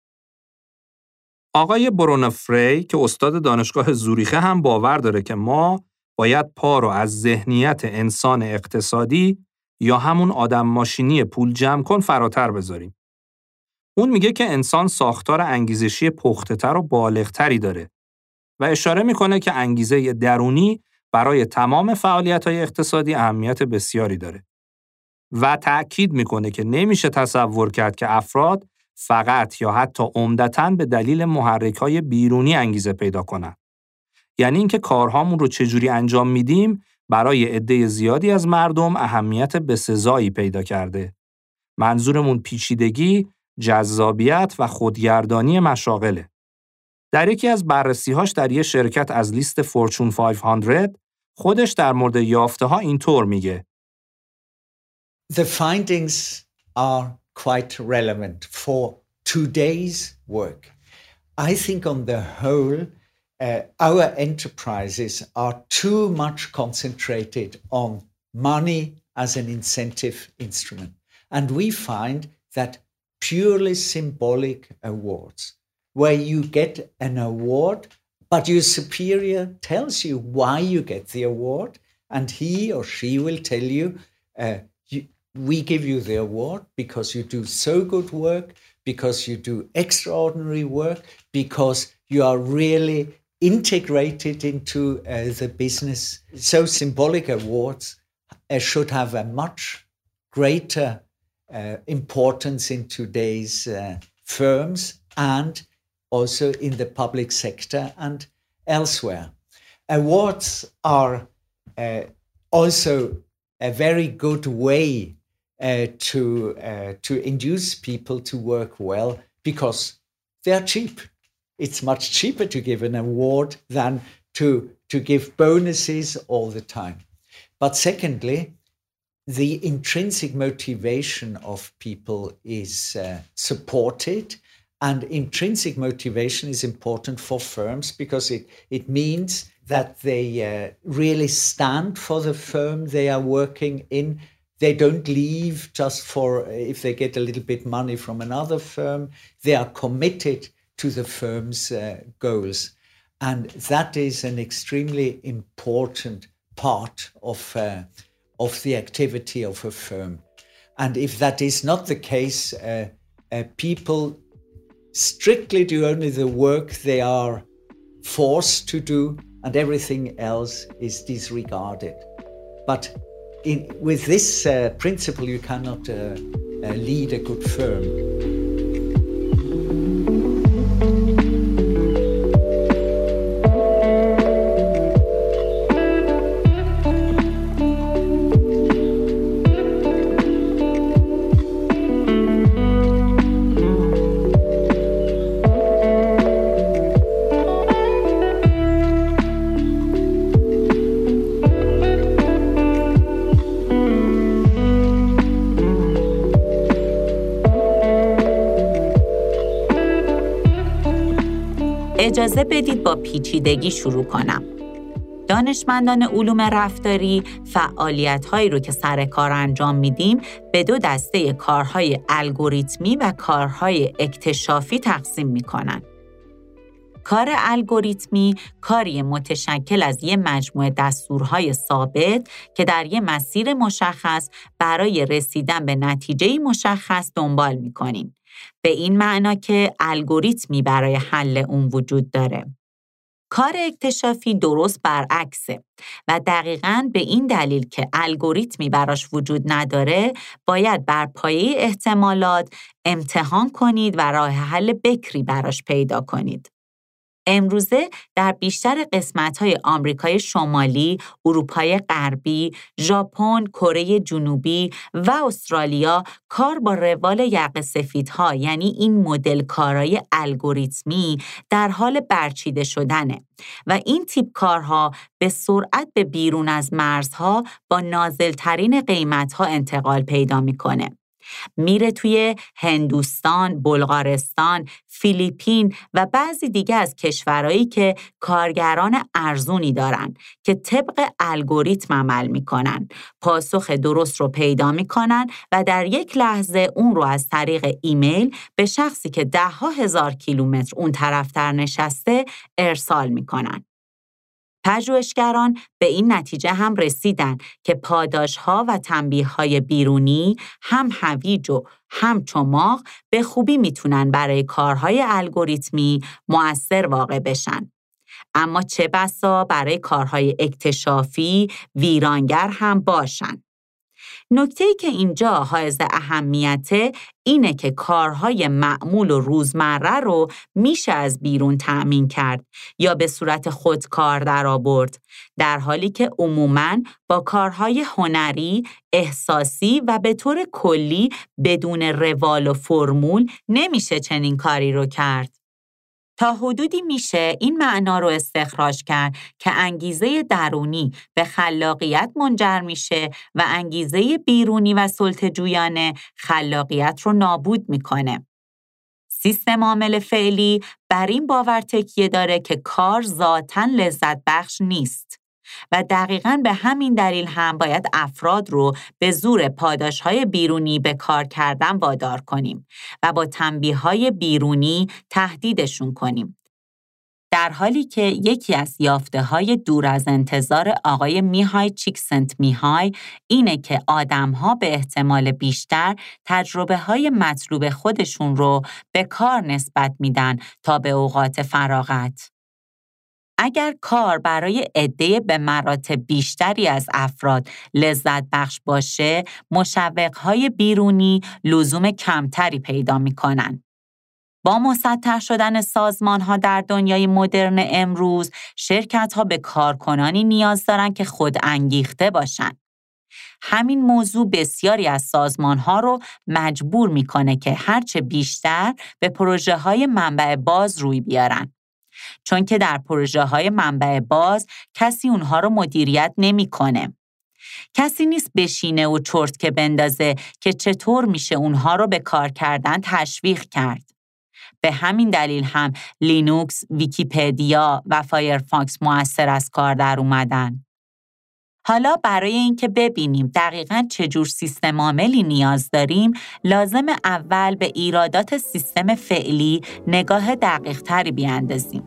آقای برونو فری که استاد دانشگاه زوریخه هم باور داره که ما باید پا رو از ذهنیت انسان اقتصادی یا همون آدم ماشینی پول جمع کن فراتر بذاریم. اون میگه که انسان ساختار انگیزشی پخته‌تر و بالغتری داره و اشاره میکنه که انگیزه درونی برای تمام فعالیت‌های اقتصادی اهمیت بسیاری داره و تأکید میکنه که نمیشه تصور کرد که افراد فقط یا حتی عمدتاً به دلیل محرک‌های بیرونی انگیزه پیدا کنن. یعنی اینکه کارهامون رو چجوری انجام میدیم برای عده زیادی از مردم اهمیت بسزایی پیدا کرده. منظورمون پیچیدگی، جذابیت و خودگردانی مشاغله. در یکی از بررسی‌هاش در یک شرکت از لیست فورچون پانصد خودش در مورد یافته‌ها اینطور میگه. The findings are quite relevant for today's work. I think on the whole, uh, our enterprises are too much concentrated on money as an incentive instrument. And we find that purely symbolic awards, where you get an award, but your superior tells you why you get the award, and he or she will tell you, uh, you we give you the award because you do so good work, because you do extraordinary work, because you are really integrated into uh, the business. So symbolic awards uh, should have a much greater uh, importance in today's uh, firms and also in the public sector and elsewhere. Awards are uh, also a very good way Uh, to uh, to induce people to work well because they are cheap. It's much cheaper to give an award than to to give bonuses all the time. But secondly, the intrinsic motivation of people is uh, supported, and intrinsic motivation is important for firms because it it means that they uh, really stand for the firm they are working in. They don't leave just for if they get a little bit money from another firm. They are committed to the firm's uh, goals. And that is an extremely important part of, uh, of the activity of a firm. And if that is not the case, uh, uh, people strictly do only the work they are forced to do, and everything else is disregarded. But In, with this uh, principle, you cannot uh, uh, lead a good firm. اجازه بدید با پیچیدگی شروع کنم. دانشمندان علوم رفتاری فعالیت‌هایی رو که سر کار انجام میدیم به دو دسته کارهای الگوریتمی و کارهای اکتشافی تقسیم میکنن. کار الگوریتمی کاری متشکل از یه مجموعه دستورهای ثابت که در یه مسیر مشخص برای رسیدن به نتیجه مشخص دنبال میکنیم. به این معنا که الگوریتمی برای حل اون وجود داره. کار اکتشافی درست برعکسه و دقیقاً به این دلیل که الگوریتمی براش وجود نداره باید بر پایه احتمالات امتحان کنید و راه حل بکری براش پیدا کنید. امروزه در بیشتر قسمت‌های آمریکای شمالی، اروپای غربی، ژاپن، کره جنوبی و استرالیا کار با روال یقه سفیدها یعنی این مدل کارای الگوریتمی در حال برچیده شدنه و این تیپ کارها به سرعت به بیرون از مرزها با نازل‌ترین قیمت‌ها انتقال پیدا می‌کنه. میره توی هندوستان، بلغارستان، فیلیپین و بعضی دیگه از کشورهایی که کارگران ارزونی دارن که طبق الگوریتم عمل میکنن، پاسخ درست رو پیدا میکنن و در یک لحظه اون رو از طریق ایمیل به شخصی که ده ها هزار کیلومتر اون طرفتر نشسته ارسال میکنن. پژوهشگران به این نتیجه هم رسیدن که پاداش‌ها و تنبیه‌های بیرونی هم هویج و هم چماق به خوبی میتونن برای کارهای الگوریتمی مؤثر واقع بشن. اما چه بسا برای کارهای اکتشافی ویرانگر هم باشن. نکته‌ای که اینجا حائز اهمیته اینه که کارهای معمول و روزمره رو میشه از بیرون تأمین کرد یا به صورت خودکار درآورد، در حالی که عموماً با کارهای هنری، احساسی و به طور کلی بدون روال و فرمول نمیشه چنین کاری رو کرد. تا حدودی میشه این معنا رو استخراج کرد که انگیزه درونی به خلاقیت منجر میشه و انگیزه بیرونی و سلطه‌جویانه خلاقیت رو نابود میکنه. سیستم عامل فعلی بر این باور تکیه داره که کار ذاتاً لذت بخش نیست و دقیقاً به همین دلیل هم باید افراد رو به زور پاداش‌های بیرونی به کار کردن وادار کنیم و با تنبیه‌های بیرونی تهدیدشون کنیم. در حالی که یکی از یافته‌های دور از انتظار آقای میهای چیکسنت میهای اینه که آدم‌ها به احتمال بیشتر تجربه‌های مطلوب خودشون رو به کار نسبت میدن تا به اوقات فراغت. اگر کار برای عده به مراتب بیشتری از افراد لذت بخش باشه، مشوق‌های بیرونی لزوم کمتری پیدا می‌کنن. با مسطح شدن سازمان‌ها در دنیای مدرن امروز، شرکت‌ها به کارکنانی نیاز دارن که خود انگیخته باشن. همین موضوع بسیاری از سازمان‌ها رو مجبور می‌کنه که هرچه بیشتر به پروژه‌های منبع باز روی بیارن. چون که در پروژه‌های منبع باز کسی اونها رو مدیریت نمی‌کنه. کسی نیست بشینه و چرت که بندازه که چطور میشه اونها رو به کار کردن تشویق کرد. به همین دلیل هم لینوکس، ویکیپدیا و فایرفاکس مؤثر از کار در اومدن. حالا برای اینکه ببینیم دقیقاً چجور سیستم عاملی نیاز داریم، لازم اول به ایرادات سیستم فعلی نگاه دقیق تری بیاندازیم.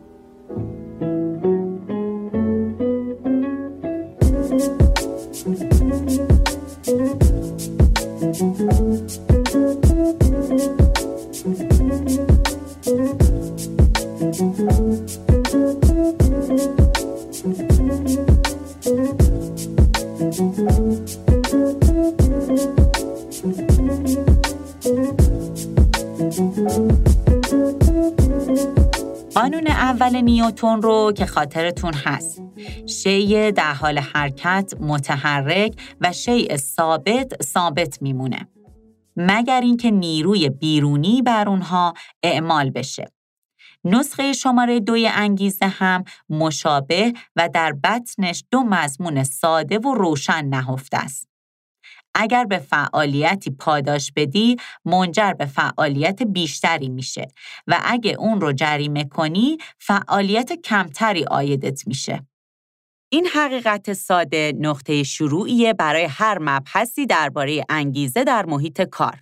قانون اول نیوتن رو که خاطرتون هست، شیء در حال حرکت متحرک و شیء ثابت ثابت میمونه مگر اینکه نیروی بیرونی بر اونها اعمال بشه. نسخه شماره دوی انگیزه هم مشابه و در بطنش دو مضمون ساده و روشن نهفته است. اگر به فعالیتی پاداش بدی، منجر به فعالیت بیشتری میشه و اگه اون رو جریمه کنی، فعالیت کمتری عایدت میشه. این حقیقت ساده نقطه شروعیه برای هر مبحثی درباره انگیزه در محیط کار.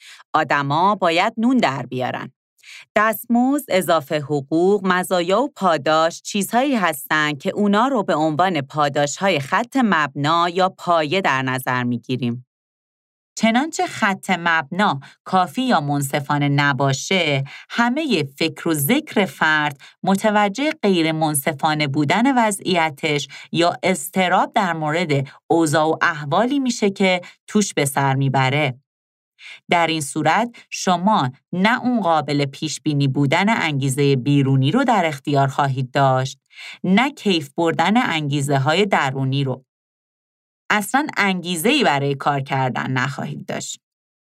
آدما باید نون در بیارن. دستمزد، اضافه حقوق، مزایا و پاداش چیزهایی هستن که اونا رو به عنوان پاداش‌های خط مبنا یا پایه در نظر میگیریم. چنانچه خط مبنا کافی یا منصفانه نباشه، همه فکر و ذکر فرد متوجه غیر منصفانه بودن وضعیتش یا اضطراب در مورد اوضاع و احوالی میشه که توش به سر میبره. در این صورت شما نه اون قابل پیش بینی بودن انگیزه بیرونی رو در اختیار خواهید داشت، نه کیف بردن انگیزه های درونی رو. اصلاً انگیزه‌ای برای کار کردن نخواهید داشت.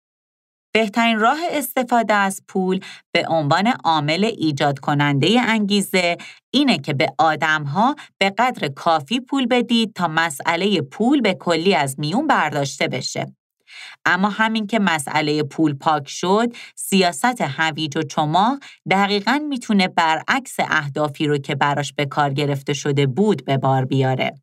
بهترین راه استفاده از پول به عنوان عامل ایجاد کننده انگیزه اینه که به آدم‌ها به قدر کافی پول بدید تا مسئله پول به کلی از میون برداشته بشه. اما همین که مسئله پول پاک شد، سیاست هویج و چماق دقیقاً میتونه برعکس اهدافی رو که براش به کار گرفته شده بود به بار بیاره.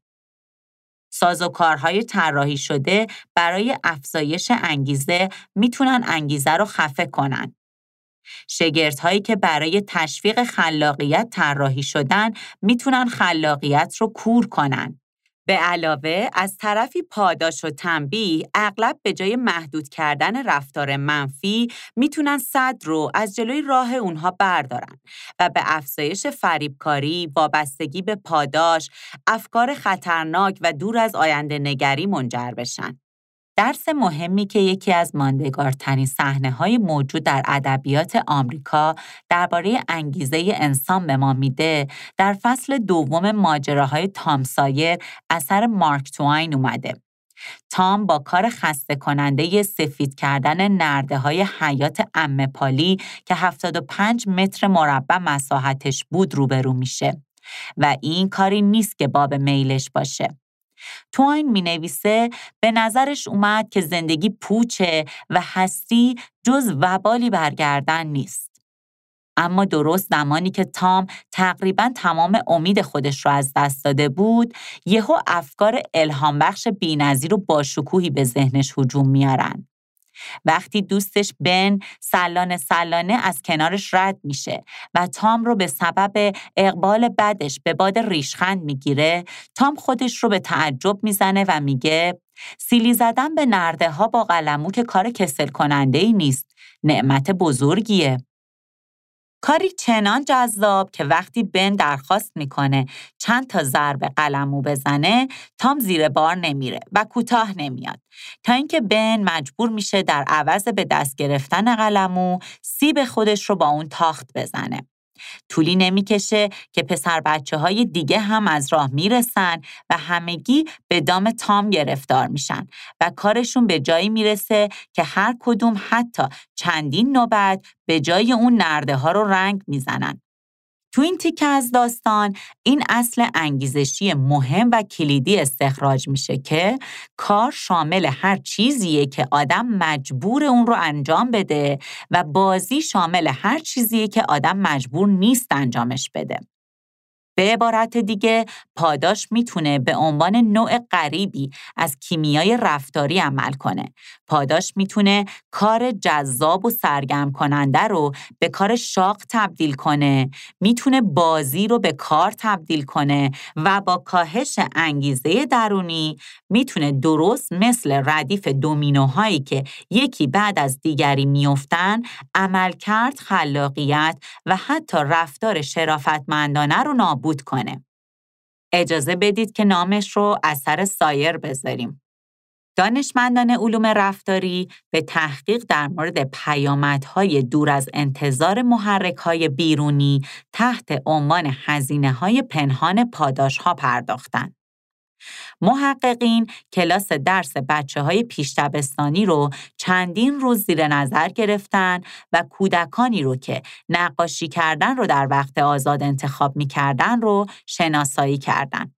سازوکارهای طراحی شده برای افزایش انگیزه میتونن انگیزه رو خفه کنن. شگردهایی که برای تشویق خلاقیت طراحی شدن میتونن خلاقیت رو کور کنن. به علاوه از طرفی پاداش و تنبیه اغلب به جای محدود کردن رفتار منفی میتونن سد رو از جلوی راه اونها بردارن و به افزایش فریبکاری، وابستگی به پاداش، افکار خطرناک و دور از آینده نگری منجر بشن. درس مهمی که یکی از ماندگارترین صحنه‌های موجود در ادبیات آمریکا درباره انگیزه انسان به ما میده، در فصل دوم ماجراهای تام سایر اثر مارک توین اومده. تام با کار خسته کننده سفید کردن نرده‌های حیات عمه پالی که هفتاد و پنج متر مربع مساحتش بود روبرو میشه و این کاری نیست که باب میلش باشه. توین می نویسه به نظرش اومد که زندگی پوچه و هستی جز وبالی برگردن نیست. اما درست زمانی که تام تقریباً تمام امید خودش رو از دست داده بود، یهو افکار الهام بخش بی‌نظیر و باشکوهی به ذهنش هجوم میارن. وقتی دوستش بن سلانه سلانه از کنارش رد میشه و تام رو به سبب اقبال بدش به باد ریشخند میگیره، تام خودش رو به تعجب میزنه و میگه سیلی زدن به نرده ها با قلمو که کار کسل کننده ای نیست، نعمت بزرگیه. کاری چنان جذاب که وقتی بن درخواست میکنه چند تا ضرب قلمو بزنه، تام زیر بار نمیره و کوتاه نمیاد، تا اینکه بن مجبور میشه در عوض به دست گرفتن قلمو سیب خودش رو با اون تاخت بزنه. طولی نمیکشه که پسر بچه های دیگه هم از راه میرسن و همگی به دام تام گرفتار میشن و کارشون به جایی میرسه که هر کدوم حتی چندین نوبت به جای اون نرده ها رو رنگ میزنن. تو این تیکه از داستان این اصل انگیزشی مهم و کلیدی استخراج میشه که کار شامل هر چیزیه که آدم مجبور اون رو انجام بده و بازی شامل هر چیزیه که آدم مجبور نیست انجامش بده. به عبارت دیگه، پاداش میتونه به عنوان نوع غریبی از کیمیای رفتاری عمل کنه. پاداش میتونه کار جذاب و سرگرم کننده رو به کار شاق تبدیل کنه، میتونه بازی رو به کار تبدیل کنه و با کاهش انگیزه درونی میتونه درست مثل ردیف دومینوهایی که یکی بعد از دیگری میافتن، عملکرد، خلاقیت و حتی رفتار شرافتمندانه رو نابود کنه. اجازه بدید که نامش رو اثر سایر بذاریم. دانشمندان علوم رفتاری به تحقیق در مورد پیامدهای دور از انتظار محرک‌های بیرونی تحت عنوان هزینه‌های پنهان پاداش‌ها پرداختند. محققین کلاس درس بچه‌های پیش دبستانی رو چندین روز زیر نظر گرفتن و کودکانی رو که نقاشی کردن رو در وقت آزاد انتخاب می‌کردن رو شناسایی کردن.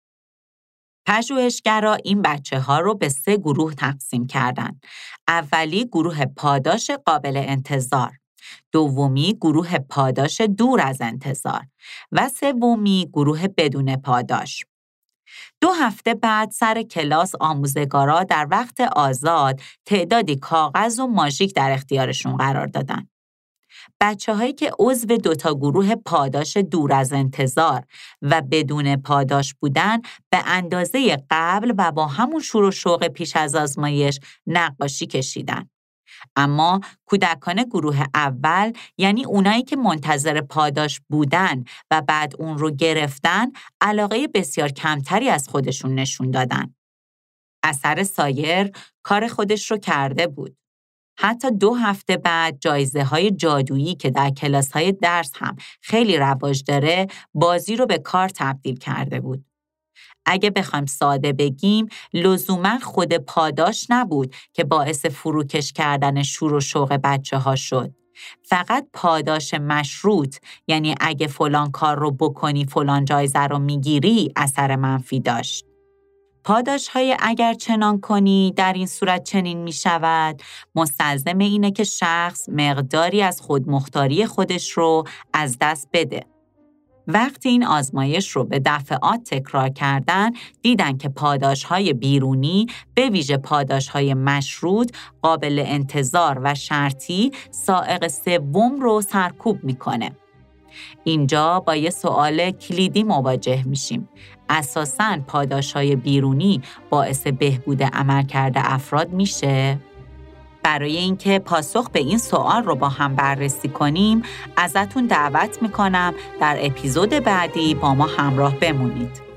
پژوهشگرا این بچه‌ها رو به سه گروه تقسیم کردن. اولی گروه پاداش قابل انتظار، دومی گروه پاداش دور از انتظار و سومی گروه بدون پاداش. دو هفته بعد سر کلاس آموزگارا در وقت آزاد تعدادی کاغذ و ماژیک در اختیارشون قرار دادن. بچه هایی که عضو دوتا گروه پاداش دور از انتظار و بدون پاداش بودن به اندازه قبل و با همون شور و شوق پیش از آزمایش نقاشی کشیدن. اما کودکان گروه اول، یعنی اونایی که منتظر پاداش بودن و بعد اون رو گرفتن، علاقه بسیار کمتری از خودشون نشون دادن. اثر سایر کار خودش رو کرده بود. حتی دو هفته بعد جایزه های جادویی که در کلاس های درس هم خیلی رواج داره، بازی رو به کار تبدیل کرده بود. اگه بخوایم ساده بگیم، لزوما خود پاداش نبود که باعث فروکش کردن شور و شوق بچه ها شد. فقط پاداش مشروط، یعنی اگه فلان کار رو بکنی فلان جایزه رو میگیری، اثر منفی داشت. پاداش های اگر چنان کنی در این صورت چنین می شود، مستلزم اینه که شخص مقداری از خودمختاری خودش رو از دست بده. وقتی این آزمایش رو به دفعات تکرار کردن، دیدن که پاداش‌های بیرونی به ویژه پاداش‌های مشروط، قابل انتظار و شرطی سائق سوم رو سرکوب میکنه. اینجا با یه سوال کلیدی مواجه میشیم. اساساً پاداش‌های بیرونی باعث بهبود عملکرد افراد میشه؟ برای اینکه پاسخ به این سوال رو با هم بررسی کنیم، ازتون دعوت میکنم در اپیزود بعدی با ما همراه بمونید.